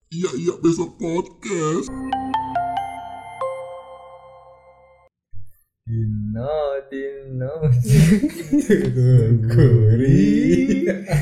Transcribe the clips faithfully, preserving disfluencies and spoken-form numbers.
Iya iya besok podcast. Dino Dino Guri.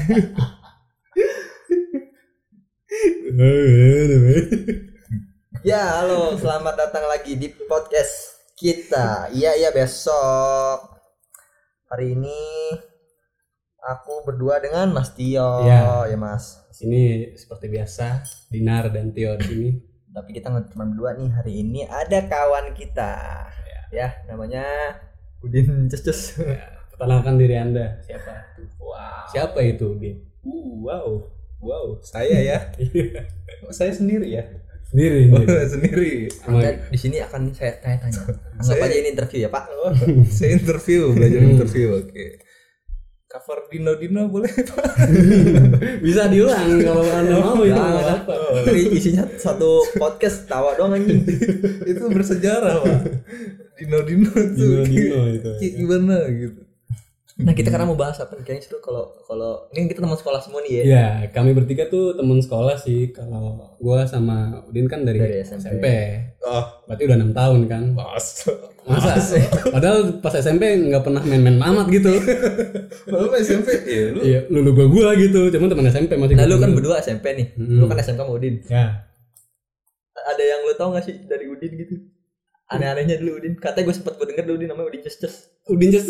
Ya halo, selamat datang lagi di podcast kita. Iya iya besok. Hari ini aku berdua dengan Mas Tio. Ya, ya Mas. Sini seperti biasa Dinar dan Tio di sini. Tapi kita nggak cuma berdua nih, hari ini ada kawan kita. Ya, ya namanya Udin Cus. Ya, perkenalkan diri Anda. Siapa? Wow. Siapa itu Udin? Uh, wow, wow, saya ya. Oh, saya sendiri ya. Sendiri. Oh, sendiri. sendiri. Anda di sini akan saya tanya-tanya. Anggap Saya- aja ini interview ya Pak. Oh, saya interview, belajar Hmm. interview. Oke. Cover Dino Dino boleh Pak? Bisa diulang kalau Anda mau itu Nah, nggak nggak apa. apa. Ini isinya satu podcast tawa doang anjing. Itu bersejarah Pak. Dino Dino Dino tuh. Dino itu. Kayak gimana gitu? Nah kita karena mau bahas apa? Kayaknya seru kalau kalau ini kita teman sekolah semua nih ya. Ya, kami bertiga tuh teman sekolah sih. Kalau gua sama Udin kan dari, Dari S M P. S M P. Oh, Berarti udah enam tahun kan. mas. Masa? Padahal pas S M P nggak pernah main-main amat gitu. Lalu S M P ya lu. Iya, lulu gua gua gitu. Cuman teman S M P masih. Nah lu ketemu. kan berdua S M P nih. Hmm. Lu kan S M K sama Udin. Ya. Ada yang lu tau gak sih dari Udin gitu? Aneh-anehnya dulu Udin. Katanya gue sempet gue denger dulu Udin namanya Udin Cus. Udin Ces.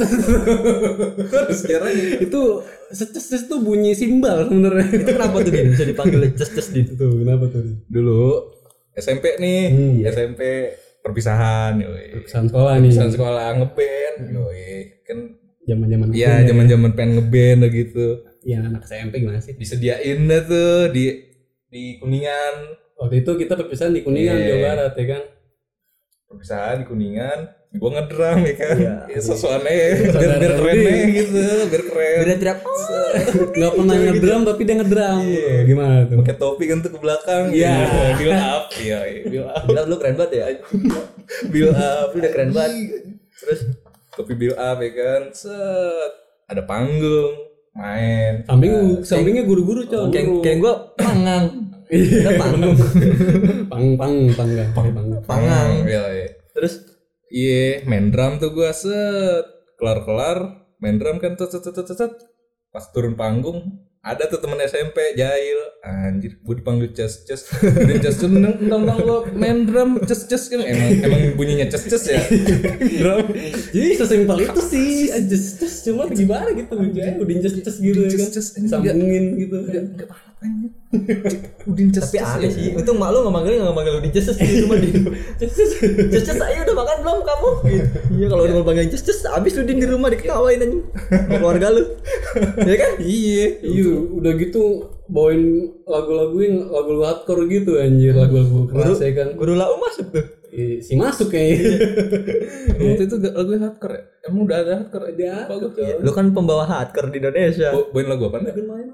Sejarahnya. Itu ces tuh bunyi simbal sebenarnya. Itu kenapa tuh Din bisa dipanggil Cus Din? Tuh, kenapa tuh? Dulu S M P nih, Hmm, iya. S M P perpisahan, yoi. Pesan sekolah nih. Perpisahan sekolah ngeband, yoi. Kan Zaman-zaman. iya, kuliah. zaman-zaman pengen ngeband lah gitu. Iya, anak S M P gimana sih? Disediain dah tuh di di Kuningan. Waktu itu kita perpisahan di Kuningan, Iya. Jawa Barat ya kan. Perpisahan di Kuningan, gua ngedrum ya kan. Iya. Ya sosokannya biar biar keren Iya. nih gitu, biar keren. Udah teriak. Enggak pernah ngedrum tapi dia ngedrum. Iya. Gimana tuh? Pakai topi kan tuh ke belakang. Iya. Build up, iya, iya. build up. Gila lu keren banget ya. Build up. Lu udah keren banget. Terus Topi build up ya kan. Set. Ada panggung, main. Samping sampingnya guru-guru, Cok. kayak Guru. kayak gue pangang. Kita panggung. pang pang pang enggak? Pang pang. Pangang. Iya, iya. Terus Iya, main drum tuh gua set. Kelar-kelar main drum kan set set set set, set. Pas turun panggung ada tuh temen S M P jahil, anjir, gue dipanggil ces ces, udah ces ces, neng neng lo main drum ces ces kan emang emang bunyinya ces ces ya, drum. Jadi sesimpel itu sih, just just cuma gimana gitu, aja udin just just gitu ya kan, Just, just. sambungin gitu. Enggak apa-apa anjir. Udin ces tapi ces aneh ya. sih. Untung mak lu nggak manggil nggak manggil Udin Cus gitu cuma di Cus Cus ayo udah makan belum kamu? Gitu. Iya kalau udah mau panggil Cus Cus abis Udin di rumah diketawain aja sama keluarga lu. Ya kan? Iya, Iya, udah gitu bawain lagu-laguin lagu-lagu hardcore gitu anjir, lagu-lagu keras ya kan. Guru lau masuk tuh. Eh, si masuk kayaknya. waktu itu gak lagu hardcore ya? Emang udah ada hardcore? Ada. Bagus Lu kan pembawa hardcore di Indonesia. Bo- Bawain lagu apa?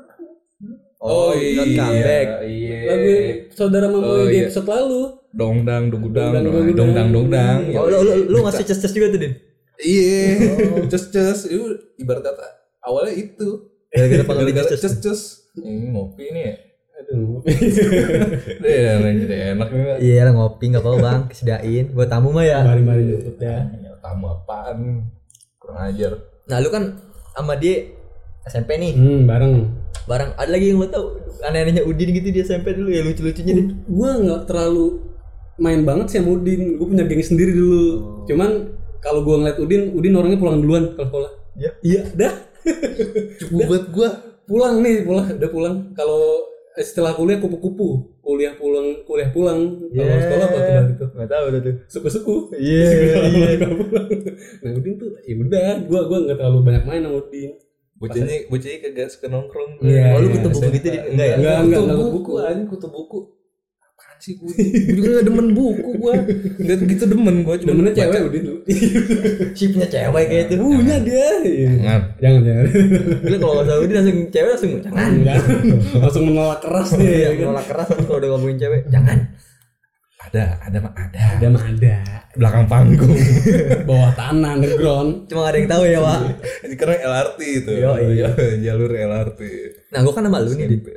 Oh, not comeback. Iya. Lagu saudara Oh, mama di iya. episode lalu. Dongdang, dongdang, Dongdang, dongdang, dongdang. dongdang, dongdang. Oh, lu, lu, lu ngasih Cus Cus juga tuh Din. Iya, cus cus itu ibarat kata awalnya itu. Gara-gara panggil Udin Gara-gara Cus Cus. cus cus. Ini ngopi nih ya. Aduh. Iya, jadi enak nih. Pak. Iya lah ngopi nggak apa-apa bang, disediain buat tamu mah ya. Mari-mari jemput ya. Ya, tamu apaan? Kurang ajar. Nah lu kan sama dia S M P nih, Hmm, bareng. barang ada lagi yang lo tau aneh-anehnya Udin gitu di S M P dulu ya lucu-lucunya deh. Gua nggak terlalu main banget sih sama Udin. Gue punya geng sendiri dulu. Cuman kalau gua ngeliat Udin, Udin orangnya pulang duluan kalau sekolah. Iya. Iya, dah. Cukup buat gua. Pulang nih, pulang, udah pulang. Kalau setelah kuliah kupu-kupu, kuliah pulang, kuliah pulang. Kalau sekolah apa tuh gitu? Nggak tahu udah tuh. Suku-suku. Iya. Iya. Nah Udin tuh, ya udah, gua gua nggak terlalu banyak main sama Udin. Bocahnya, bocahnya kagak suka nongkrong. Iya, Oh lu iya, kutu buku S M P. gitu Din? Enggak ya? Enggak, enggak, Kutu enggak buku, buku. anjing kutu buku. Apaan sih gua? Gua juga gak demen buku gua. Enggak gitu demen gua cuma Demennya baca. cewek Udin tuh. Si punya cewek kayak itu. Punya dia. Jangan. Jangan, jangan. Lu kalau nggak tahu Udin langsung cewek langsung jangan. Enggak. Langsung menolak keras dia. Iya, ya kan? menolak keras langsung kalau udah ngomongin cewek jangan. Ada, ada mah ada. Ada mah ada. Belakang panggung. Bawah tanah underground. Cuma nggak ada yang tahu ya Wak. Ini karena L R T itu. Yo, iya. Jalur L R T. Nah gue kan sama lu nih Din.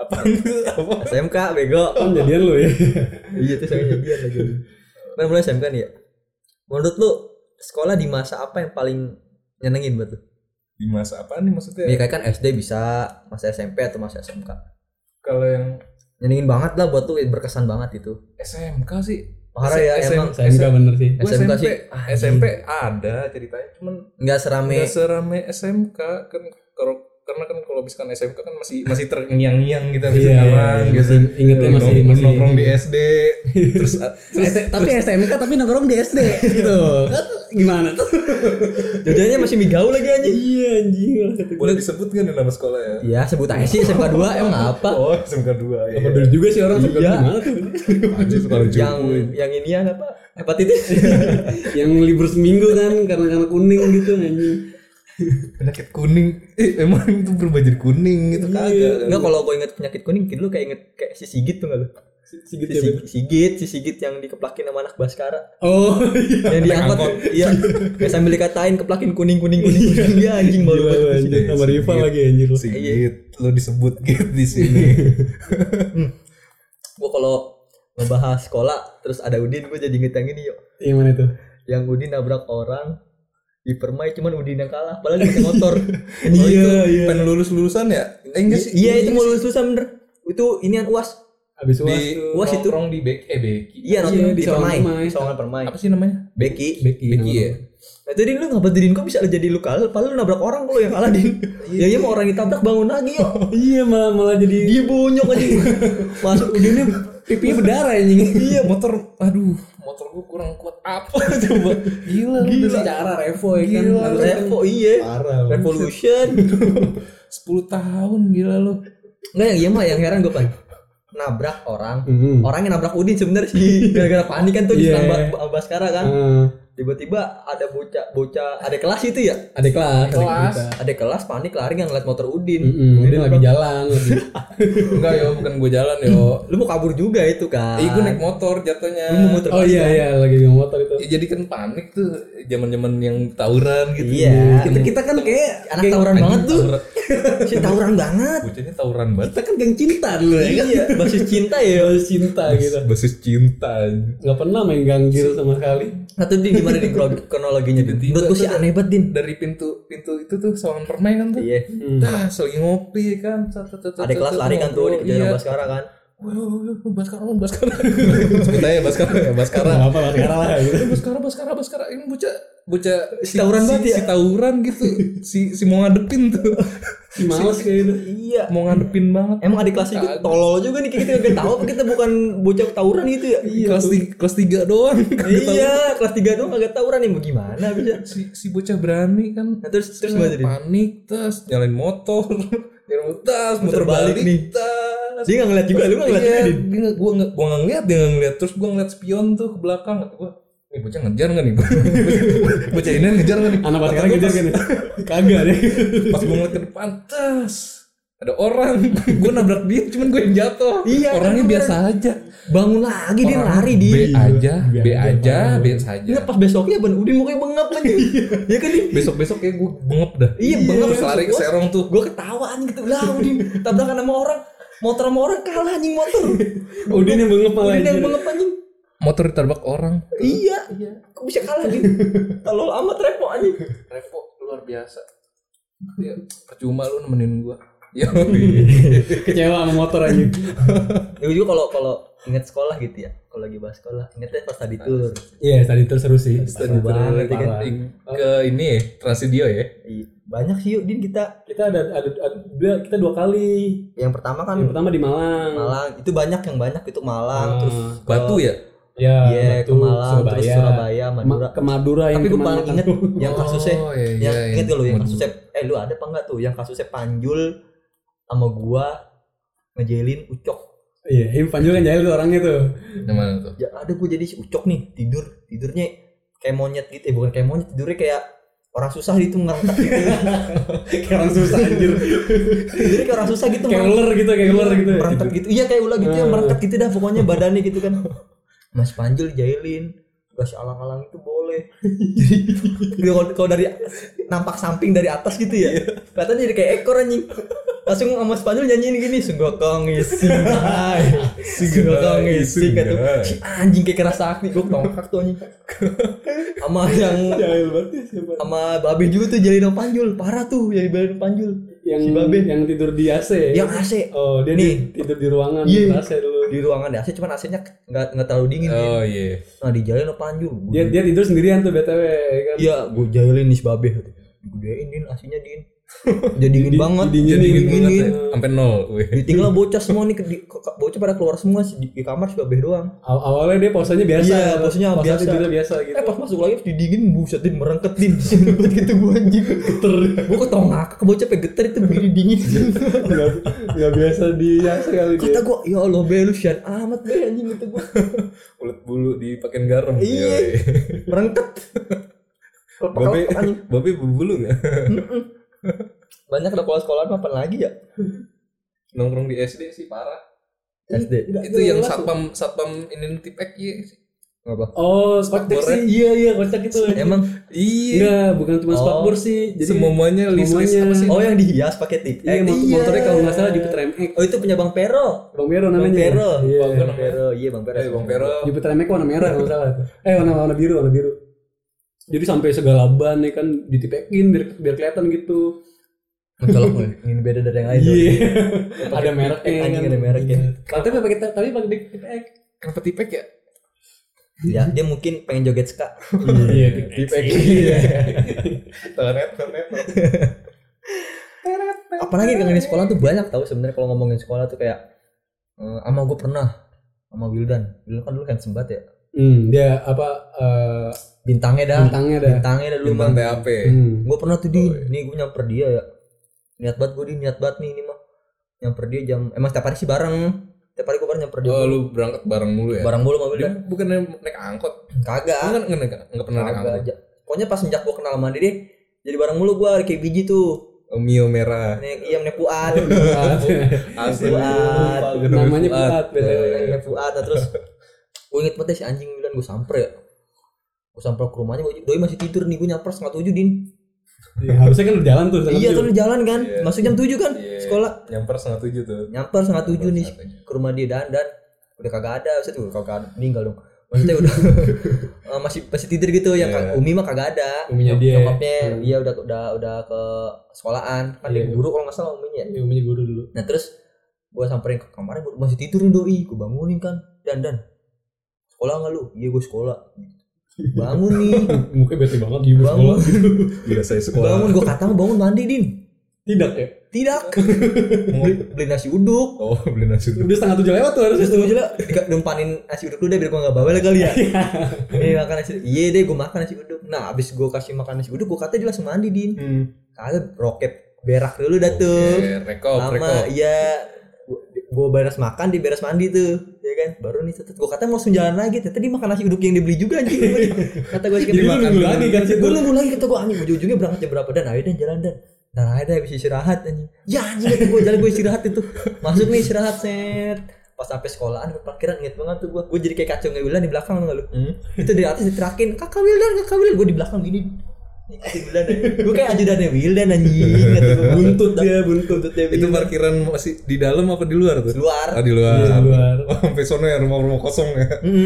Apa itu? Apa? S M K bego. Kan jadian lu ya. Iya tuh saya jadian lagi. Kan mulai S M K nih ya. Menurut lu sekolah di masa apa yang paling nyenengin buat lu? Di masa apa nih maksudnya? Ya kayak kan S D bisa, masa S M P atau masa S M K. Kalau yang Nyenengin banget lah buat lu, berkesan banget itu. S M K sih. Parah ya S- emang. S M K bener sih. Gue S M K S M P, sih, S M P ada ceritanya, cuman Nggak serame. nggak serame S M K kan. Kalau karena kan kalau misalkan S M K kan masih masih terngiang-ngiang gitu habis Iya, sekarang iya, gitu. masih ingetnya masih- Nongkrong- masih- nongkrong di S D terus terus tapi S M K tapi nongkrong di S D gitu. Kan gimana tuh? Jajannya masih mie gaul lagi anjing. Iya anjing. boleh disebut kan nama sekolah ya? Iya, sebut aja sih S M K dua emang apa? Oh, S M K dua ya. Apa dulu juga sih orang suka Iya. gimana tuh? Anjir sekolah Yang cupu. yang inian apa? Hepatitis. Yang libur seminggu kan karena karena kuning gitu anjing. Penyakit kuning. Eh, emang itu berubah jadi kuning gitu kagak. Enggak, kalau gue inget penyakit kuning, lu kayak inget kayak si Sigit tuh enggak lu? Sigit Si Sigit, Sigit, si Sigit yang dikeplakin sama anak Baskara. Oh iya. Yang diangkut, iya. Kayak sambil dikatain keplakin kuning kuning kuning kuning. Iya anjing malu Gila, banget. anjing. Sama rival lagi anjir lu. Sigit, lo disebut gitu di sini. Gue kalau ngebahas sekolah terus ada Udin, gue jadi inget yang ini yuk. Yang mana tuh? Yang Udin nabrak orang di permai, cuman Udin yang kalah padahal dia pakai motor. Oh, itu pengen lulus lulusan ya? Eh, enggak sih. Iya itu mau lulus lulusan bener. Itu inian U A S. Habis uas Di tuh. Uas itu. nongkrong di Beki, eh Beki. Iya, Iya, nonton di di Sawangan permai. Permai. Sawangan permai. Apa sih namanya? Beki. Beki. Beki ya. Nah itu Din, lu ngapa Din, kok bisa jadi lu kalah padahal lu nabrak orang, kalau yang kalah Din. Ya iya mau orang ditabrak bangun lagi yuk. Iya malah malah jadi Dia bonyok aja. Masuk Udinnya pipinya berdarah anjing. Iya, motor aduh, motor gua kurang kuat apa coba. Gila, Gila. Secara revo ya kan. Gila. Harusnya kan Revo iya. parah. Revolution. sepuluh tahun gila lu. Enggak, yang iya mah yang heran gue pan. Nabrak orang. Mhm. Orangnya nabrak Udin sebenarnya sih. Gara-gara panik kan tuh di Iya. yeah. Baskara kan. Ah, Tiba-tiba ada bocah bocah ada kelas itu ya. ada kelas, ada Kelas. kita. Ada kelas panik lari nggak ngeliat motor Udin. Mm-mm, Udin lagi jalan lagi. Enggak yo, bukan gua jalan yo. Lu mau kabur juga itu kan. Ih, gua naik motor jatuhnya. Lu mau muter Oh balik iya kan? iya lagi di motor itu. Ya, jadi kan panik tuh zaman-zaman yang tawuran gitu. Iya. Kita kita kan kayak Anak tawuran banget tuh. Tawuran. Si tawuran banget. Bocahnya tawuran banget. kita kan geng cinta dulu ya kan. Iya, basis cinta ya. Basis cinta gitu. Basis cinta. Nggak pernah main ganggil sama sekali. Satu Din gimana Din kronologinya Din? Tiba-tiba Menurut gue sih tuh aneh banget Din. Dari pintu pintu itu tuh Sawangan Permai kan tuh. Iya. Dah, lagi ngopi kan. Ada kelas lari kan tuh di Iya. jalan Baskara kan. Wah, Baskara, Baskara. Sebut aja Baskara ya, Baskara. Nggak apa lah sekarang lah gitu. Eh, Baskara, Baskara, Baskara. Ini bocah bocah Si tawuran banget ya? Si tawuran gitu. Si si mau ngadepin tuh. Si males kayak gitu. Iya. Mau ngadepin banget. Emang adik kelas itu tolol juga nih, kita gak tahu apa kita bukan bocah tawuran gitu ya. kelas tiga, kelas tiga doang. Iya, kelas tiga doang agak tawuran nih, gimana bisa? si si bocah berani kan. Nah, terus terus gimana Din? panik tas, nyalain motor. Nyalain tas, Muter muter balik balik nih. tas. Dia nggak ngeliat juga, lu nggak ngeliat Iya, juga, Din? dia nggak- gua nggak gua nggak ngeliat, dia nggak ngeliat. Terus gua ngeliat spion tuh ke belakang. Kata gua, nih bocah ngejar nggak nih? Bocah ini ngejar nggak nih? Anak Kata sekarang gua ngejar pas- kan ya? Kagak deh. Pas gua ngeliat ke depan, tas ada orang. Gua nabrak dia, cuman gue yang jatuh. Iya, Orangnya kan, biasa aja. Bangun lagi dia Orangnya lari B dia. aja, B B aja, aja, parah. biasa aja. Enggak, pas besoknya Ban Udin mukanya bengap kan. Iya kan Din? Besok-besok kayak gue bengep dah. Iya, bengep. Terus lari ke serong tuh. Gue ketawaan gitu lah Udin tabrakan sama orang. Motor sama orang kalah anjing motor. Udin yang bengep malah. Udin yang anjir. bengep anjing. Motor ditabrak orang. Iya. Kok bisa kalah Din? Tolol amat repo anjing. Revo luar biasa. Ya, percuma lu nemenin gua. Ya. Kecewa sama motor aja. Ya juga kalau kalau ingat sekolah gitu ya. Kalau lagi bahas sekolah, ingetnya pas tadi tour. Iya tadi itu seru sih. Seru banget ya kan. Ke ini ya, Transvidio ya. Iya, banyak sih yuk Din kita. Kita ada ada, ada dua- kita dua kali. Yang pertama kan Yang pertama di Malang. Malang. Itu banyak yang banyak itu Malang Ah, terus Batu ya? Ya, Iya, ke Batu, Malang, terus Surabaya, Madura. Ma- ke Madura yang Tapi gue kemana? paling inget yang kasusnya, Oh, iya, yang iya, inget gak lu yang Madura. kasusnya, eh lu ada apa enggak tuh, yang kasusnya Panjul sama gua ngejelin Ucok. Iya, ini Panjul kan jahil tuh orangnya tuh. Yang mana tuh? Ya ada gua jadi si Ucok nih tidur, tidurnya kayak monyet gitu, eh bukan kayak monyet, tidurnya kayak orang susah gitu ngerangkak gitu. Kayak orang susah anjir. Tidurnya kayak orang susah gitu. Kayak merangkak. ular gitu, kayak ular gitu. Merangkak gitu. Iya kayak ular gitu ya, merangkak gitu dah pokoknya badannya gitu kan. Mas Panjul jahilin, kasih alang-alang itu boleh. Jadi kalau kalau dari nampak samping dari atas gitu ya, katanya jadi kayak ekor anjing. langsung sama Spanyol nyanyiin gini, sungguh kong isi, sungguh kong isi, kata si anjing kayak keras sakti, gue tongkak tuh anjing. Sama yang Jahil banget ya siapa? sama Babe juga tuh Jalino Panjul, parah tuh jadi Jalino Panjul. Yang Si Babe yang tidur di A C. yang A C. Oh, dia Nih. di- tidur di ruangan Iya. A C dulu. Di ruangan A C, cuman A C-nya nggak nggak terlalu dingin. Oh Din. iya. Nah di Jalino Panjul, gua- Dia dia tidur sendirian tuh B T W kan. iya gue jailin nih si Babe, gedein Din A C-nya Din, jadi dingin Di- banget, didinginin. Jadi dingin banget dinginin. ya. Sampai nol. Wih. Ditinggal bocah semua nih, ke- di- ke- bocah pada keluar semua sih, di, di kamar si Babe doang. Aw- awalnya dia posenya biasa. Iya, posenya Pose biasa. tidurnya biasa gitu. Eh pas masuk lagi didingin, buset Din merengket Din. Buat gitu gue anjing geter. Gue ketongak ke bocah pe geter itu begini dingin. Enggak enggak biasa di A C kali dia. Kata gue, ya Allah Be lu sian amat Be anjing gitu gue. Ulet bulu dipakein garam. Iya. Yoi. Merengket. Babe, Anjing. babe berbulu nggak? Banyak ada sekolah-sekolah apa lagi ya? Nongkrong di S D sih parah. S D. Itu yang satpam satpam ini tipek iya sih. Apa? Oh, spakbor Spakbor, sih. Iya iya kocak itu. Emang Iya. Enggak, bukan cuma Oh. spakbor sih. Jadi Semuanya list list semuanya. apa sih? oh yang dihias pakai tip. Iya, motor- motornya kalau nggak salah Jupiter M X. Oh itu punya Bang Pero. Bang Pero Bang namanya. Pero. Iya. Bang Pero. Iya Bang Pero. Eh, Bang Pero. Jupiter M X warna merah kalau nggak salah. Eh warna warna biru, warna biru. Jadi sampai segala ban ya kan ditipekin biar biar kelihatan gitu. Mencolok loh, ini beda dari yang lain. Iya. Pakai Ada mereknya tipek, anjing, kan. ada mereknya. Tapi pakai tapi pakai tipek. Kenapa tipek ya? Ya, dia mungkin pengen joget ska. Iya, tipek. Iya. Tonet, tonet. Apalagi dengan di sekolah tuh banyak tahu sebenarnya kalau ngomongin sekolah tuh kayak eh, ama gue pernah sama Wildan. Wildan kan dulu kan sembat ya. Hmm, dia apa eh, Bintangnya dah. bintangnya dah. Bintangnya dah dulu Bintang mah. T A P. Hmm. Gue pernah tuh di, nih gue nyamper dia ya. Niat banget gue di niat banget nih ini mah. Nyamper dia jam, emang setiap hari sih bareng. Setiap hari gue bareng nyamper dia. Oh lu berangkat bareng mulu ya? Bareng mulu sama Dia Wildan. bukan naik angkot. Kagak. Lu kan nggak nggak pernah naik Kagak angkot. aja. Pokoknya pas sejak gue kenal sama dia deh, jadi bareng mulu gue kayak biji tuh. Oh, Mio merah. Nek iya nek Fuad. Asli. Fuad. Namanya Fuad, Betul, betul. nek Fuad. Nah, terus gue inget banget si anjing Wildan gue samper ya. Gue samper ke rumahnya, doi masih tidur nih, gue nyamper setengah tujuh Din. Ya, harusnya kan udah jalan tuh. Iya tuh udah jalan kan, Iya. masuk jam tujuh kan Iya. sekolah. Nyamper setengah tujuh tuh. Nyamper setengah tujuh nih setengah tujuh. ke rumah dia dan dan udah kagak ada, maksudnya tuh kagak ada, meninggal dong. Maksudnya udah eh, masih masih tidur gitu, yang Iya. Umi mah kagak ada. Uminya dia. Nyokapnya Hmm. dia udah udah udah ke sekolahan, kan Iya. dia guru kalau nggak salah uminya. Ya, umumnya guru dulu. Nah terus gue samperin ke kamarnya, gua masih tidur nih doi, gue bangunin kan, dan dan sekolah nggak lu? Iya gue sekolah. Bangun nih, Mukanya bete banget gitu bangun, sekolah. Gila saya sekolah. bangun. Gue kata bangun mandi Din, Tidak ya? tidak, beli, beli nasi uduk. Oh beli nasi dulu. Udah setengah tujuh lewat tuh harusnya. Terus tuh aja numpanin nasi uduk dulu deh biar gue nggak bawel kali ya. Nih makan nasi, iya deh gue makan nasi uduk. Nah abis gue kasih makan nasi uduk, gue kata dia langsung mandi Din. Hmm. Kagak rokep berak dulu dah tuh. Oke, rekop, Lama rekop. iya gue beres makan, dia beres mandi tuh ya kan, baru nih tetet gue kata mau langsung jalan lagi, ternyata dia makan nasi uduk yang dibeli juga anjing. Kata gue Jadi lu nunggu lagi kan situ. gue nunggu lagi, kata gue anjing ujung-ujungnya berangkat jam berapa, dan ayo dan jalan dan dan ayo deh habis istirahat anjing, ya anjing kata gue jalan, gue istirahat itu masuk nih istirahat set, pas sampai sekolahan parkiran inget banget tuh gue gue jadi kayak kacau nggak Wildan di belakang nggak lu, itu dari atas diterakin kakak Wildan kakak Wildan, gue di belakang gini. Wildan, gue kayak ajudannya Wildan anjing, Buntut dia, buntut. dia Itu parkiran masih di dalam apa di luar tuh? luar. Oh, di luar. Iya, di luar. Oh, sampai sono ya rumah-rumah kosong ya. Mm-hmm.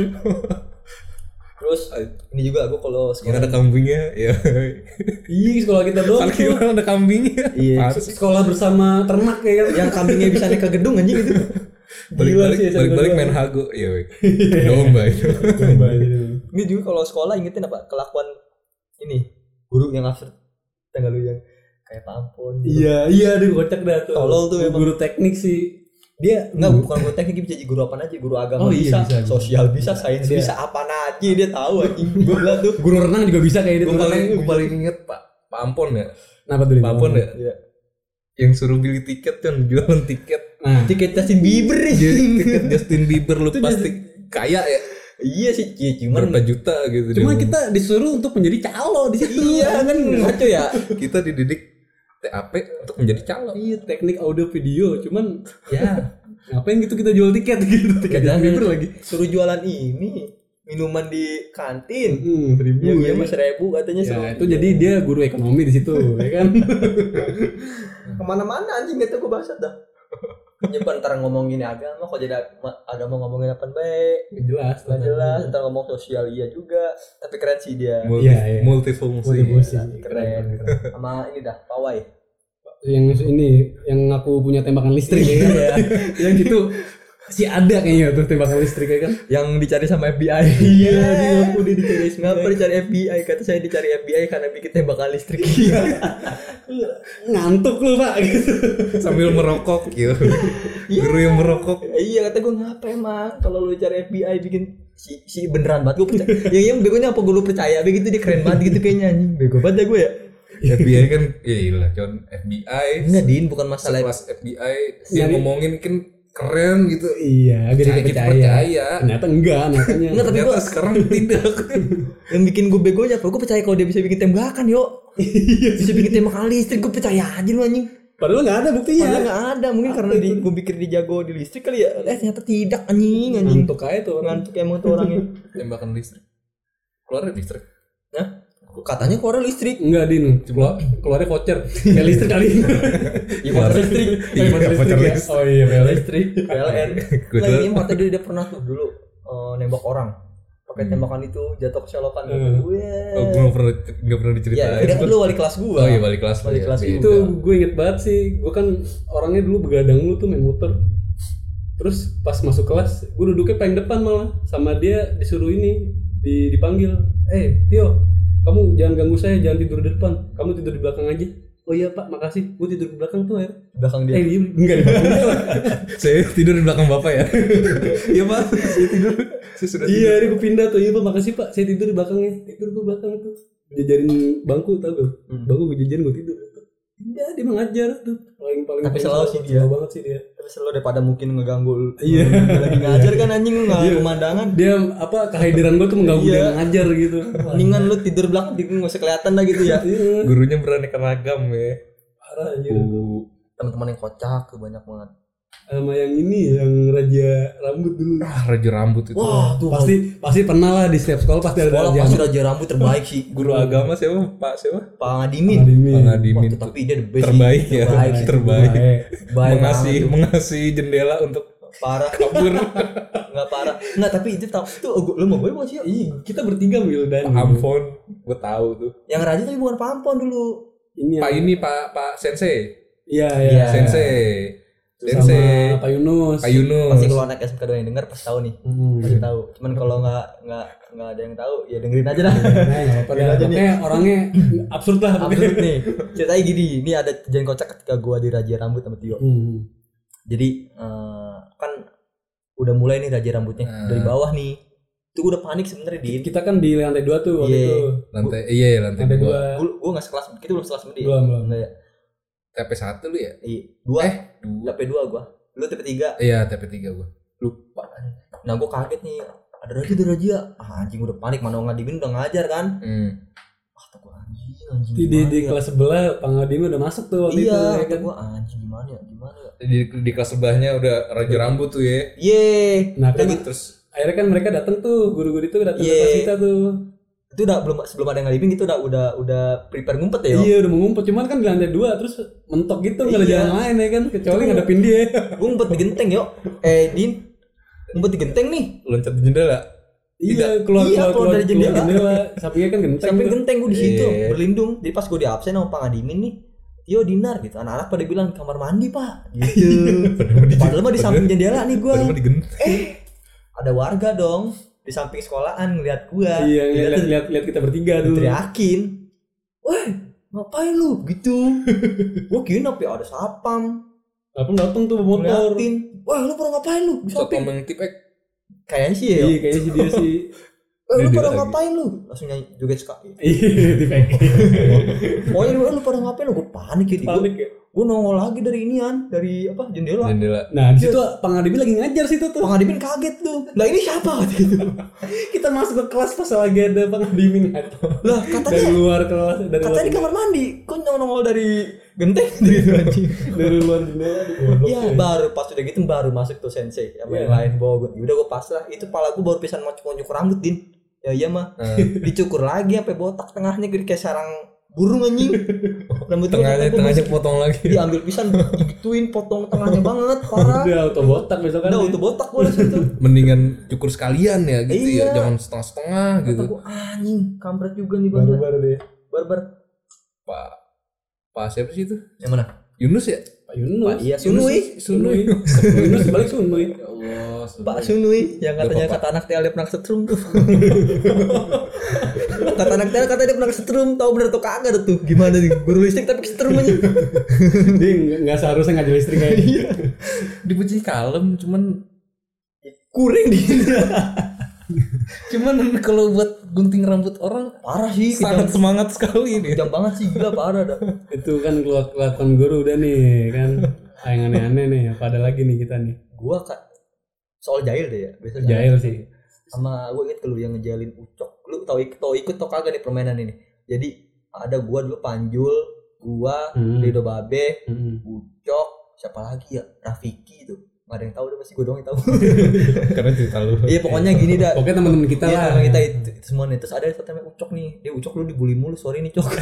Terus ini juga gue kalau Yang sekolah ada kambingnya, ya. Iya, sekolah kita doang. tuh. Parkiran ada kambingnya. Iya. Apaan sih? Sekolah bersama ternak ya kan. yang kambingnya bisa naik ke gedung anjing itu. Balik-balik sih, balik-balik sama main gua. hago. Iya, weh. Domba itu. Coba gitu. Ini juga kalau sekolah ingetin apa kelakuan ini guru yang absurd, tanggal lu yang kayak Pak Ampun. Gitu. Iya, iya deh kocak dah tuh. Tolol tuh emang. Guru teknik sih. Dia enggak bukan guru teknik, bisa jadi guru apa aja, guru agama Oh, iya, bisa, bisa, bisa. sosial bisa, sains Dia- bisa, apa aja dia tahu anjing. Gue bilang tuh. Guru renang juga bisa kayak gitu. Gue paling gue paling inget Pak Pak Ampon ya. Kenapa tuh? Pak Ampon ya. Iya. Yang suruh beli tiket kan, jualan tiket. Nah, Tiket Justin Bieber Jadi anjing. tiket Justin Bieber lu pasti kaya ya. Iya sih, iya, cuman Berapa juta gitu. cuma dia. kita disuruh untuk menjadi calo di situ. iya kan ngaco ya. kita dididik T A P untuk menjadi calo. Iya, teknik audio video, cuman Ya, ngapain gitu kita jual tiket gitu. Tiket Jangan Justin Bieber lagi. suruh jualan ini minuman di kantin. Hmm, seribu. Iya, iya ya. mas seribu katanya. Ya, seru. itu jadi dia guru ekonomi di situ, ya kan? Kemana-mana anjing itu gue bahas dah. Nyebar ntar ngomongin agama kok jadi ag- agama ngomongin apa baik. Nggak jelas, Nggak jelas, ntar ngomong sosial iya juga. Tapi keren sih dia. Multi, Iya, iya. multifungsi. Multifungsi. Keren. Sama ini dah, pawai. Yang ini yang aku punya tembakan listrik ya kan? Yang itu si ada kayaknya tuh tembakan listrik ya kan? Yang dicari sama F B I. Iya, di aku dia dicari. Ngapa dicari F B I? Kata saya dicari F B I karena bikin tembakan listrik. Ngantuk lu pak gitu. Sambil merokok gitu. Guru yang merokok. Iya kata gue ngapa emang kalau lu cari F B I bikin si si beneran banget gue percaya. Yang yang begonya apa gue lu percaya begitu dia keren banget gitu kayaknya anjing. Bego banget dah gue ya. F B I kan ya iyalah John F B I. Enggak Din, bukan masalah Sekelas F B I dia Yang- ngomongin kan keren gitu. Iya, agar Percaya, kita kita percaya. percaya. Ternyata enggak, nyatanya. Enggak, tapi Ternyata gua- sekarang tidak. yang bikin gue begonya apa? Gue percaya kalau dia bisa bikin tembakan yo. Bisa bikin tembakan listrik gue percaya aja lu anjing. Padahal nggak ada buktinya. Padahal nggak ada, mungkin karena di, gue pikir dia jago di listrik kali ya. Eh ternyata tidak anjing anjing. Ngantuk aja tuh. Ngantuk emang tuh orangnya. Tembakan listrik. Keluar listrik. Nah, katanya keluar listrik. Enggak din, keluar keluarnya voucher. Ya listrik kali. Iya voucher listrik. Iya, voucher voucher listrik. ya. listrik. Oh iya, voucher Listrik, P L N. Gua Nah, dulu- ini waktu dia, dia pernah tuh dulu eh, nembak orang. Pakai tembakan itu jatuh ke selokan. Hmm. Weh. Oh, gue nggak pernah nggak pernah Ya, diceritain. dia kan dulu wali kelas gua. Oh iya balik kelas. Balik ya. kelas Beda. Itu gue inget banget sih. Gue kan orangnya dulu begadang lu tuh main motor. Terus pas masuk kelas, gue duduknya paling depan malah. Sama dia disuruh ini di dipanggil. Eh Tio, kamu jangan ganggu saya, jangan tidur di depan. Kamu tidur di belakang aja. Oh iya pak, makasih. Gue tidur di belakang tuh ya. Belakang dia. Eh iya, enggak di belakang dia lah. Saya tidur di belakang bapak ya. Iya pak, saya tidur. Saya sudah Iya, ini gue pindah tuh. Iya pak, makasih pak. Saya tidur di belakangnya. Tidur gue belakang tuh. Jajarin bangku tau gak? Bangku gue jajarin gue tidur. Iya, dia mengajar tuh. Paling paling. Tapi paling selalu selalu- sih dia. selalu banget sih dia. Tapi selalu daripada mungkin ngeganggu lu. Iya. Dia lagi ngajar kan anjing lu enggak Iya. pemandangan. Dia apa kehadiran gue tuh mengganggu Iya. dia mengajar gitu. Mendingan lu tidur belakang enggak usah kelihatan lah gitu ya. Iya. Gurunya beraneka ragam ya. Parah aja. Uh, Teman-teman yang kocak tuh banyak banget. Sama yang ini yang raja rambut dulu. ah, raja rambut itu. Wah, tuh Pasti pasti pernah lah di setiap sekolah pasti ada sekolah raja pasti rambut. raja rambut terbaik sih. Guru agama siapa? Pak siapa? Pak Ngadimin. Adimin. Pak Wah, Ngadimin tuh, tuh. tapi dia the best Terbaik sih. ya. Terbaik sih. Terbaik. Baik Mengasih banget tuh. mengasih jendela untuk Parah. kabur. Enggak parah. Enggak, tapi itu tahu tuh lu mau gue mau sih. Iya, kita bertiga Wildan. Ampun, gue tahu tuh. Yang raja tapi bukan Pak Ampon dulu. Ini Pak yang- ini Pak Pak Sensei. Iya, Iya. iya. Sensei. Sama Sensei. Pak Yunus. Pak Yunus. Pasti kalau anak S M K dua yang denger pasti tahu nih. Hmm. Pasti tahu. Cuman kalau enggak enggak enggak ada yang tahu ya dengerin aja dah. Nah, nggak apa-apa Dengerin dah. aja nih. Pokoknya orangnya absurd lah. Absurd nih. Ceritanya gini, ini ada kejadian kocak ketika gua di Raja Rambut sama Tio. Hmm. Jadi eh, kan udah mulai nih Raja Rambutnya Nah. dari bawah nih. Itu gua udah panik sebenarnya Din. Kita kan di lantai dua tuh waktu Iya. itu. Lantai iya ya, lantai Lantai dua. dua. Gua gua enggak sekelas, kita belum sekelas sama dia. Belum, belum. Enggak ya. T P satu lu ya? Iya, dua. Eh, dua. T P dua gua. Lu T P tiga. Iya, T P tiga gua. Lupa. Nah, gua kaget nih. Ada Raja, ada Raja. Ah, anjing udah panik, mana Ngadimin udah ngajar kan. Hmm. Ah, tuh gua anjing, anjing. Di, di, gimana di ya? kelas sebelah Pak Ngadim udah masuk tuh waktu itu. Iya, Ya kata kan? gua anjing gimana ya? Gimana ya? Di, di kelas sebelahnya udah raja rambut tuh ya. Ye. Nah kan Terus akhirnya kan mereka datang tuh guru-guru itu datang ke Iya. kelas kita tuh. Itu udah belum sebelum ada yang ngalibin gitu udah udah udah prepare ngumpet ya. Yo. Iya udah mau ngumpet cuman kan di lantai dua terus mentok gitu nggak ada Iya. jalan lain ya kan kecuali Itu- ngadepin dia. Gua ngumpet di genteng yo. Eh, Din. Ngumpet di genteng nih. loncat di jendela. Iya keluar Iya, keluar, keluar dari keluar jendela. jendela. Sampingnya kan genteng. Samping tuh. genteng gua di situ Iya. berlindung. Jadi pas gua di absen sama Pak Ngadimin nih, Yo dinar gitu. Anak-anak pada bilang kamar mandi, Pak. Gitu. Padahal mah di samping jendela nih gua. Padahal mah digent. Eh, ada warga dong di samping sekolahan ngeliat gua. Iya Ngeliat lihat tuh lihat lihat kita bertiga dulu. teriakin. Weh, ngapain lu? Gitu. Gua kira ya ada sapam. Apa datang tuh bawa motor. Ngeliatin. Wah, lu pada ngapain lu? Di Satu samping. yang tipek. Kayaknya sih ya. Iya kayaknya sih dia sih. Eh, lu Dia pada lagi. ngapain lu? Langsung nyanyi joget sekali. Iya di fake. Pokoknya lu, lu pada ngapain lu? Gue panik ya di gua. Panik ya. gue nongol lagi dari inian, dari apa jendela. Jendela. Nah di situ Bang Adibin lagi ngajar situ tuh. Bang Adibin kaget tuh. Lah ini siapa gitu. Kita masuk ke kelas pas lagi ada Bang Adibin ngajar. Lah Dari katanya luar kelas, dari katanya di luar, kamar mandi. Kok nongol dari genteng gitu anjing. dari luar jendela. Goblok, Iya, ya. baru pas udah gitu baru masuk tuh sensei sama yang Iya. lain bawa gue. Udah gue pasrah. Itu pala gue baru pisan mau nyukur rambut, Din. Ya iya mah. Eh, Dicukur lagi sampai botak tengahnya gede kayak sarang burung anjing. Rambut gue tengahnya sampai tengahnya masuk. potong lagi. Diambil pisan digituin potong tengahnya banget parah. Udah auto botak besok kan. Udah auto botak gue situ. Mendingan cukur sekalian ya gitu Iya. ya, jangan setengah-setengah gitu. Kata gue anjing, kampret juga nih bang. Baru-baru deh. Barbar. Pak Pak siapa sih itu? Yang mana? Yunus ya? Pak Yunus. Pak iya Sunui. Sunui. Yunus balik Sunui. Ya Allah. Pak Sunui yang katanya Bapak. kata anak T L dia pernah kesetrum tuh. Kata anak T L katanya dia pernah kesetrum, tahu bener tuh kagak tuh. Gimana nih? Guru listrik tapi kesetrum aja. Dia nggak- nggak seharusnya ngajar listrik kayak gitu. Dipuji kalem, cuman Kuring di cuman kalau buat gunting rambut orang parah sih, sangat kejam, semangat sekali nih. kejam banget sih gila parah dah. Itu kan keluar kelakuan guru udah nih kan. Yang aneh-aneh nih. Apa ada lagi nih kita nih? Gua kak soal jahil deh ya, biasa Jahil sih. Sama gue inget lu yang ngejalin ucok. Lu tau ikut tau ikut tau kagak nih permainan ini. Jadi ada gua dulu Panjul, gua, Hmm. Rido Babe, Mm-mm. Ucok, siapa lagi ya? Rafiki itu. Gak ada yang tahu deh, pasti gue doang yang tahu. Karena cerita lu. Iya pokoknya gini dah. Oke teman-teman kita Iya lah. teman kita itu, itu semua nih. Terus ada satu namanya Ucok nih. Dia Ucok lu dibully mulu, sorry nih Cok.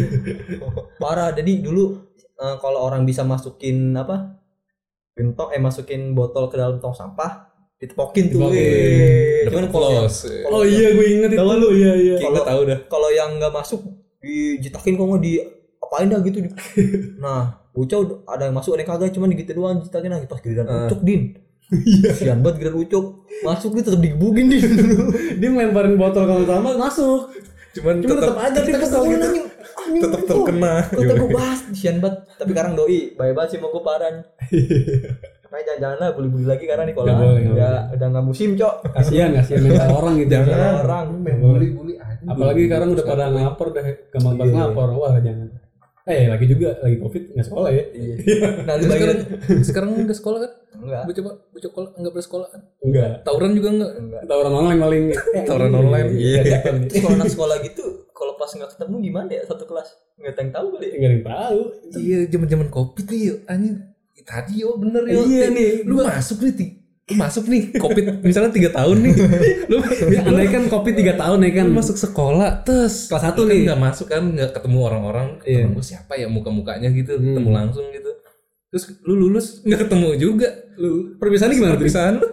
Parah. Jadi dulu eh, kalau orang bisa masukin apa? Gentong eh masukin botol ke dalam tong sampah, ditepokin tuh. Ditepokin. Weh. Dapat Cuman kalau yang- close. Oh iya gue inget itu. Tahu lu? Iya iya. Kita tahu dah. kalau yang nggak masuk dijitakin kok nggak di apain dah gitu. Di... Nah, Ucok ada yang masuk ada yang kagak, cuman gitu doang dijitakin lagi pas giliran Uh. Ucok din. Sian banget giliran Ucok masuk dia tetap digebugin din. Dia ngelemparin botol kalau sama masuk. Cuman Cuma tetap tetap aja dia kesel gitu. anjing. Anjing, tetap oh, terkena. Kata gue bahas sian banget. Tapi sekarang doi bye bye sih mau gue parah nih. Makanya jangan-jangan lah bully-bully lagi karena nih kalau Nggak boleh, nggak udah udah nggak musim Cok. Kasihan kasihan mental orang gitu. Jangan. Jangan orang. main bully-bully aja. Apalagi sekarang udah pada ngapor dah gampang banget Iya. ngapor. Wah jangan. Eh lagi juga lagi covid nggak sekolah ya? Iya. Nanti Terus sekarang bagian sekarang udah sekolah kan? enggak. Gue coba gue coba enggak bersekolah kan? Enggak. Tawuran juga enggak? Enggak. Kita orang online paling. Tawuran online. Iya. Terus kalau anak sekolah gitu kalau pas nggak ketemu gimana ya satu kelas? Nggak ada yang tahu kali. Enggak ada yang tahu. Iya, zaman-zaman Covid nih yuk. Anjing. Tadi yo bener yo. Iya Ti. nih, Lu masuk nih, Ti. Lu masuk nih Covid misalnya tiga tahun nih. Lu Ya, andai kan covid tiga tahun ya kan. lu masuk sekolah terus Kelas satu lu kan nih. nggak masuk kan, nggak ketemu orang-orang, Iya. ketemu siapa ya muka-mukanya gitu, Hmm. ketemu langsung gitu. Terus lu lulus nggak ketemu juga. Lu perpisahannya gimana? Perpisahan. Perpisahan lu?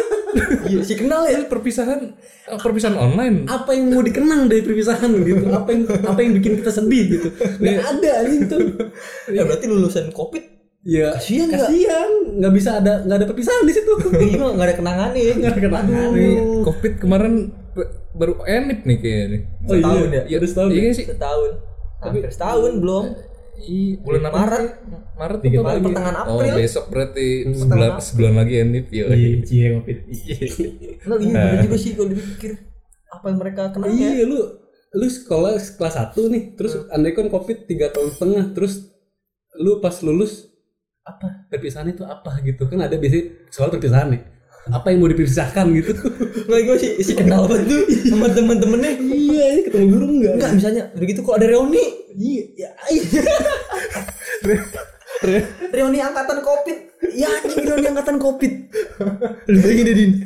Iya si kenal ya. Perpisahan eh, perpisahan online. Apa yang mau dikenang dari perpisahan gitu? Apa yang apa yang bikin kita sedih gitu? Nggak ada anjing tuh. Ya berarti lulusan Covid Ya kasihan nggak? kasihan nggak bisa ada nggak ada perpisahan di situ. Iya nggak ada kenangan nih. Nggak ada kenangan. Nih, Covid kemarin b- baru enip nih kayaknya nih. Oh iya, Setahun ya? ya udah setahun. Iya ya? sih. Setahun. Hampir setahun belum. Iya, bulan apa? Maret. sih? Maret Dikit atau lagi. Pertengahan Oh, April. besok berarti Hmm. sebulan April. sebulan lagi enip ya. Iya, cie covid. Nah, iya bener juga sih kalau dipikir apa yang mereka kenal ya. Iya, lu lu sekolah kelas satu nih, terus andai kan covid tiga tahun setengah, terus lu pas lulus apa perpisahan itu apa gitu kan ada biasanya soal perpisahan nih. Apa yang mau dipisahkan gitu? Nggak gue sih si kenal banget tuh sama temen-temennya. Iya, ini ketemu guru enggak? Enggak misalnya begitu kalau ada reuni. Iya, ya, Reuni angkatan Covid. Ya anjing reuni angkatan Covid. Lu bayangin deh Din.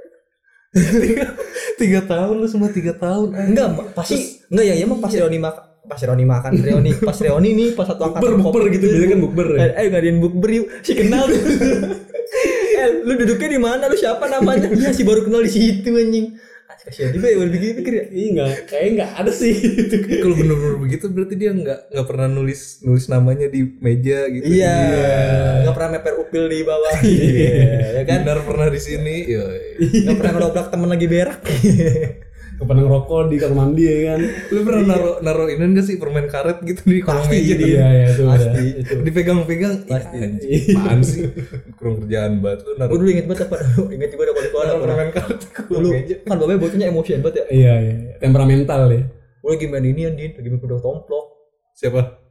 Tiga tahun lu semua tiga tahun. Enggak, Ma. pasti enggak ya, ya mah pas reuni makan, pas reuni makan, reuni pas reuni nih pas satu angkatan bukber Covid gitu biasanya kan bukber ya. Eh, eh ngadain bukber yuk. Si kenal tuh. Eh, lu duduknya di mana? Lu siapa namanya? Iya, si baru kenal di situ anjing. Ah, kasihan juga ya udah pikir-pikir ya. Iya enggak, kayaknya enggak ada sih. Kalau bener-bener begitu berarti dia nggak nggak pernah nulis nulis namanya di meja gitu. Iya. Enggak pernah meper upil di bawah. Iya. Ya kan? Benar pernah di sini. Yoi. Enggak pernah ngedobrak temen lagi berak. Kepada ngerokok di kamar mandi ya kan. Lu pernah naro naro ini enggak sih permen karet gitu di kolong Pasti, meja Din. dia? Iya, iya itu. Pasti. Pasti. Itu. Dipegang-pegang. Pasti. Ih, anjing, apaan sih? Kurang kerjaan banget lu naro Gue dulu inget banget apa? Ingat juga ada kalau naro ada permen karet di kolong dulu meja. kan bapaknya bocahnya emosian banget ya. Iya, iya. Temperamental ya. Gue lagi main ini Din, lagi main kuda tomplok. Siapa?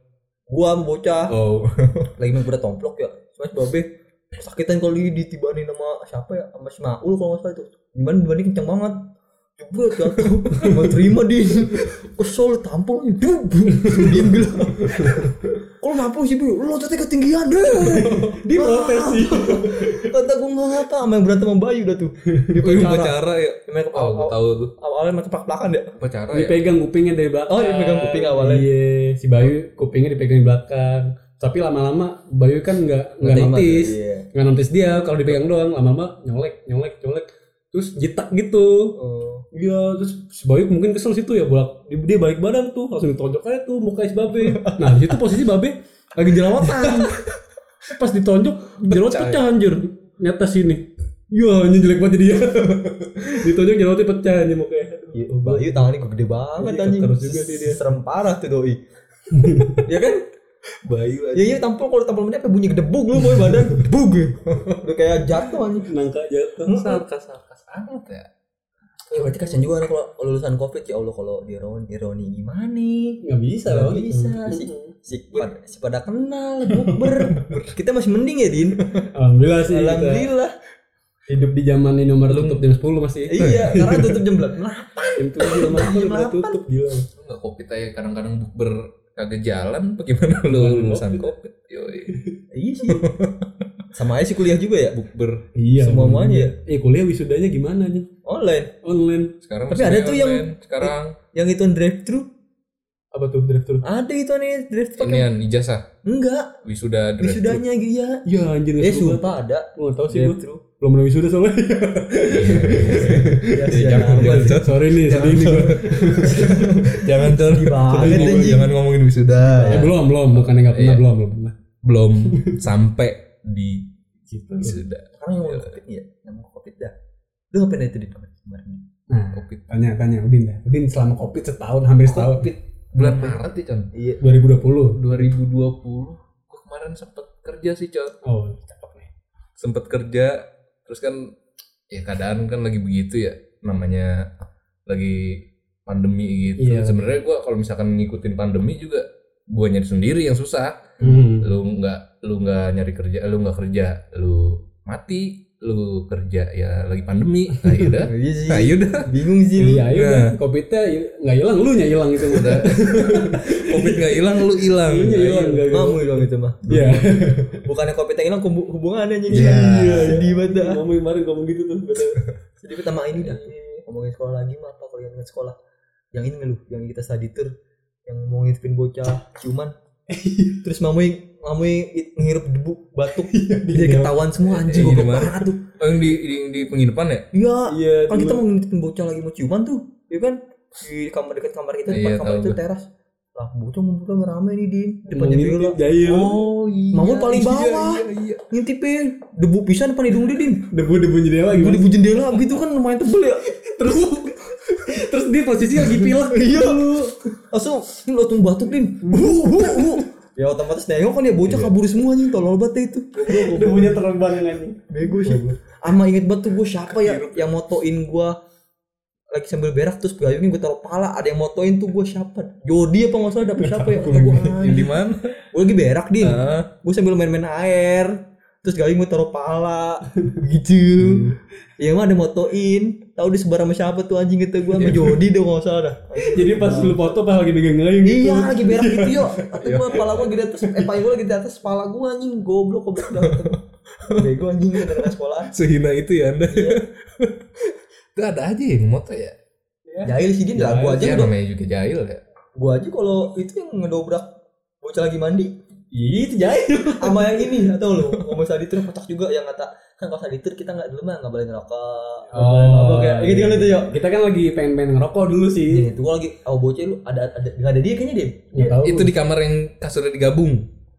Gua sama bocah Oh. lagi main kuda tomplok ya. Mas babe sakitan kali ditibanin sama siapa ya? Sama si Maul kalau enggak salah itu. Gimana dibanding kencang banget. Jebret jatuh. Enggak terima din. Kesel tampol diem bilang. Kalau nampol sih Bu, lo tadi ketinggian deh. Dia protes sih. Kata gua enggak apa sama yang berantem sama Bayu dah tuh. Di Oh, pacara. pacara ya. Main ke Oh, gua tahu tuh. awalnya main keplak-plakan ya. Pacara ya. Dipegang kupingnya dari belakang. Oh, dia pegang kuping awalnya. Iya, si Bayu kupingnya dipegang di belakang. Tapi lama-lama Bayu kan nggak nggak terima, notice, iya. nggak notice dia kalau dipegang doang. Lama-lama nyolek, nyolek, nyolek, terus jitak gitu. Oh. Iya, terus si Bayu mungkin kesel situ ya, bolak dia balik badan tuh, langsung ditonjok aja tuh muka si Babe. Nah di situ posisi Babe lagi jerawatan. Pas ditonjok jerawat pecah anjir, nyata sini. Ya anjing jelek banget dia. Ditonjok jerawatnya pecah anjing mukanya. Iya, Bayu tangannya gede banget Iya, anjing. terus juga sih dia. Serem parah tuh doi. Ya kan? Bayu aja. Ya iya tampol kalau tampol menit apa bunyi gedebug lu boy badan. Gedebug. Udah kayak jatuh anjing. Nangka jatuh. Sarkas-sarkas amat ya. Ya berarti kasian juga nih kalau lulusan Covid ya Allah kalau di ironi, ironi gimana nih? Nggak bisa Nggak loh. bisa si si pada, si pada kenal bukber. Kita masih mending ya Din. Alhamdulillah sih. Kita Alhamdulillah. hidup di zaman ini nomor tutup jam sepuluh masih. Iya, karena tutup jam delapan. Jam tujuh nomor sepuluh udah tutup gila. Lu enggak Covid aja kadang-kadang bukber kagak jalan bagaimana lu lulusan Covid. Yoi. Iya sih. Sama aja sih kuliah juga ya, Bukber Iya. semua-muanya ya. Eh kuliah wisudanya gimana nih? Online. Online. sekarang. Tapi masih ada tuh yang- online. Sekarang Yang itu drive thru. Apa tuh drive-thru? Ada itu nih drive thru. inian ijazah Enggak, wisuda drive-thru. wisudanya iya. Ya anjir Eh nggak seru banget. sumpah ada. Gua nggak tahu sih Drive gua. thru. Belum pernah wisuda soalnya. Ya, jangan, jangan, Cot. Sorry nih, sedih nih gua. Jangan Cor. banget, Sedih nih, anjing. jangan ngomongin wisuda. Eh belum, belum, bukannya nggak pernah, Iya. belum, belum pernah. Belum sampai di Gitu. wisuda. Sekarang yang mau Covid ya, yang mau Covid dah. Lu ngapain itu di kemarin? Nah, Covid. tanya, tanya Udin dah. Udin selama Covid setahun, hampir setahun. Covid bulan Maret ya, Con. Iya. dua ribu dua puluh. dua ribu dua puluh. Gua kemarin sempet kerja sih, Con. Oh, cakep nih. Sempet kerja terus kan ya keadaan kan lagi begitu ya, namanya lagi pandemi gitu. Iya. Sebenarnya gua kalau misalkan ngikutin pandemi juga gua nyari sendiri yang susah. Hmm. Lu nggak lu nggak nyari kerja, lu nggak kerja, lu mati, lu kerja ya lagi pandemi. Nah, yaudah. Iya sih. Nah, yaudah. Bingung sih lu. Iya, ayo Nah. dah. Covidnya nggak hilang, lu nya hilang itu. Udah. Covid nggak hilang, lu hilang. Lu nya hilang, nggak hilang. Kamu dong itu mah. Iya. Bukannya Covid yang hilang hub- hubungannya anjing. Iya. Sedih banget dah. Ngomong kemarin ngomong gitu tuh. bener. Sedih banget sama ini dah. Ngomongin sekolah lagi mah apa kalau yang ingat sekolah. Yang ini nggak lu, yang kita study tour yang mau ngintipin bocah ciuman. Terus mamui mamui ngehirup debu batuk. Dia ketahuan semua anjing Iya, goblok gimana? banget tuh. Oh, yang di, di di penginapan ya? Iya. Iya, Kan kita cuma- mau ngintipin bocah lagi mau ciuman tuh. Ya kan? Di kamar dekat kamar kita, depan Iya, kamar tahu itu gua. teras. Lah bocah ngumpul rame nih di depan Ngomongin jendela. jahil. Oh iya. Mamul paling Iya, bawah. Iya, iya. Ngintipin debu pisan depan hidung dia din. Debu-debu jendela Gue gimana? di jendela gitu kan lumayan tebel ya. Terus terus dia posisi lagi pilek. Iya. Langsung ini langsung batuk din. Ya otomatis nengok kan ya bocah kabur semua anjing tolol banget itu. Debunya terbang anjing. Bego sih. Ama inget banget tuh gue siapa ya yang motoin gue lagi sambil berak terus gayungnya gue taruh pala, ada yang motoin tuh gue siapa? Jody apa nggak salah dapet siapa ya? Kata gue Yang di mana? gue lagi berak din. Ah. Gue sambil main-main air terus gayung gue taruh pala gitu. Ya mah ada motoin, tahu disebar sama siapa tuh anjing gitu gue sama Jody deh nggak salah dah. Jadi pas lu foto pas lagi megang gayung gitu. Iya lagi berak gitu yo. Atau gue pala gue di atas, eh pala gue lagi di atas pala gue anjing goblok goblok dah. Bego anjing dari sekolah. Sehina itu ya Anda. Iya. Itu ada aja yang moto ya. Jahil sih dia lah. Gue aja Ya udah. namanya juga jahil ya. Gue aja kalau itu yang ngedobrak bocah lagi mandi. Iya itu jahil. Sama yang ini atau lo ngomong saditur kocak juga yang kata kan kalau saditur kita nggak dulu mah nggak boleh ngerokok. Oh, kayak gitu kan itu yo. Kita kan lagi pengen-pengen ngerokok dulu sih. Ini tuh gue lagi, oh bocah lu ada ada nggak ada dia kayaknya dia. Nggak tahu. Itu di kamar yang kasurnya digabung.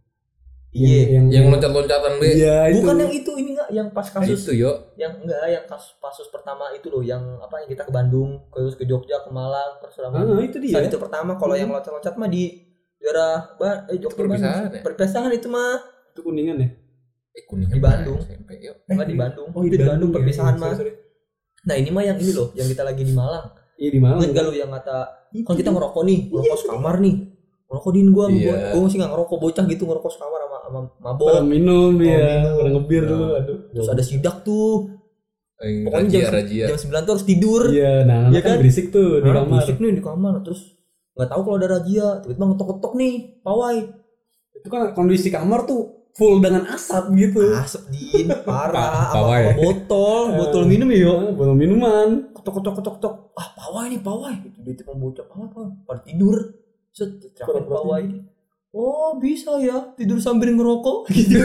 Iya. Yang loncat-loncatan be. Iya itu. Bukan yang itu ini nggak yang pas Nah, kasus itu yo. yang enggak yang kasus kasus pertama itu loh yang apa yang kita ke Bandung terus ke Jogja ke Malang terus Ah, sama itu dia. itu pertama kalau yang loncat-loncat mah di daerah ba eh Jogja Perpisahan Bandung ya? perpisahan itu mah Itu kuningan ya. Eh, Kuningan Di Bandung. S M P, yuk. enggak di Bandung Oh, itu di Bandung ya. perpisahan Sorry, mah sorry. nah ini mah yang ini loh yang kita lagi di Malang Iya di Malang. ingat gak lu yang kata kan kita ngerokok nih ngerokok sekamar nih Ngerokok din gua, Iya. gua, gua masih nggak ngerokok, bocah gitu ngerokok sekamar sama sama mabok. Orang minum Oh, ya, minum. orang ngebir Nah. dulu, aduh. Terus ada sidak tuh. Yang Pokoknya rajia jam, rajia. jam sembilan tuh harus tidur. Iya, nah Iya kan kan? berisik tuh di Hah, kamar. Berisik nih di kamar. Terus nggak tahu kalau ada razia, tiba-tiba ngetok-ketok nih pawai. Itu kan kondisi kamar tuh full dengan asap gitu. Asap din, parah, Pa- sama, pawai. sama botol, botol minum ya. Ah, botol minuman. Ketok-ketok ketok-ketok. Ah, pawai nih, pawai. Gitu dia cuma bocah pawai, pawai. Pada tidur. Set, teriakin Pura-pura pawai. Oh, bisa ya tidur sambil ngerokok gitu.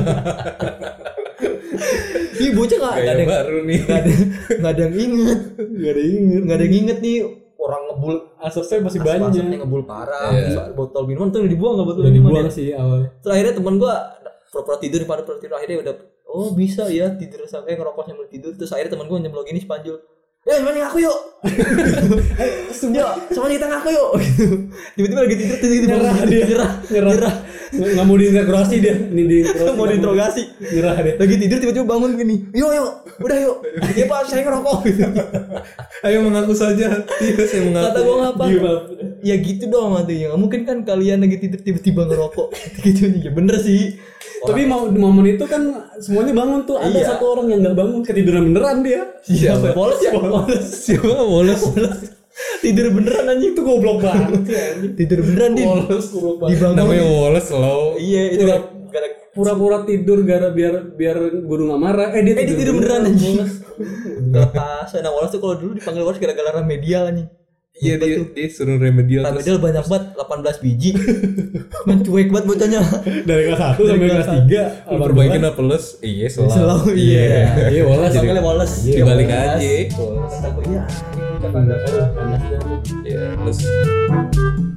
Ih, bocah nggak ada Gaya yang baru nih. nggak ada nggak ada yang inget, Gak ada yang inget. nggak ada yang inget nih orang ngebul Asapnya masih asap-asapnya banyak. ngebul parah. Iya. Terus botol minuman tuh udah dibuang nggak botol Udah minuman dibuang ya? sih awalnya. Terus akhirnya teman gua pura-pura tidur pada pura tidur akhirnya udah oh bisa ya tidur sampai ngerokok sambil tidur. Terus akhirnya teman gua nyemplung gini sepanjul. Eh, mana ngaku yuk? Yuk, sama kita ngaku yuk. Tiba-tiba lagi tidur tiba-tiba Nyerah dia. nyerah, Nyerah. nyerah. Nggak nggak mau diinterogasi dia. Ini di Mau diinterogasi. Nyerah dia. Lagi tidur tiba-tiba bangun gini. Yuk, yuk. Udah yuk. Iya, Pak, saya ngerokok. Ayo mengaku saja. Iya, saya mengaku. Kata gua ngapa? Gila. Ya gitu dong artinya. Nggak mungkin kan kalian lagi tidur tiba-tiba ngerokok. Gitu nih. Ya bener sih. Tapi mau di momen itu kan semuanya bangun tuh. Ada Iya. satu orang yang nggak bangun, ketiduran beneran dia. Siapa? Polos ya? Polos. Siapa bolos? Tidur beneran anjing. Itu goblok banget sih anjing. Tidur beneran din. Polos, goblok banget. Dibangun. Namanya Wallace loh. Iya, itu Pura- gara- gara- Pura-pura tidur gara biar biar guru nggak marah. Eh dia Eh, dia tidur beneran anjing. Polos. Lepas. Nah, Wallace tuh kalau dulu dipanggil Wallace gara-gara remedial anjing. Iya dia dia suruh remedial terus. Remedial banyak banget, delapan belas biji. Mencuek banget bocahnya. Dari kelas satu Dari sampai kelas kelas tiga. Lu perbaikin apa plus? Iya selalu. Selalu iya. Iya, Wallace. Panggilnya Wallace. Dibalik Wallace. aja. Kata gue, iya. Panas dah. Iya, terus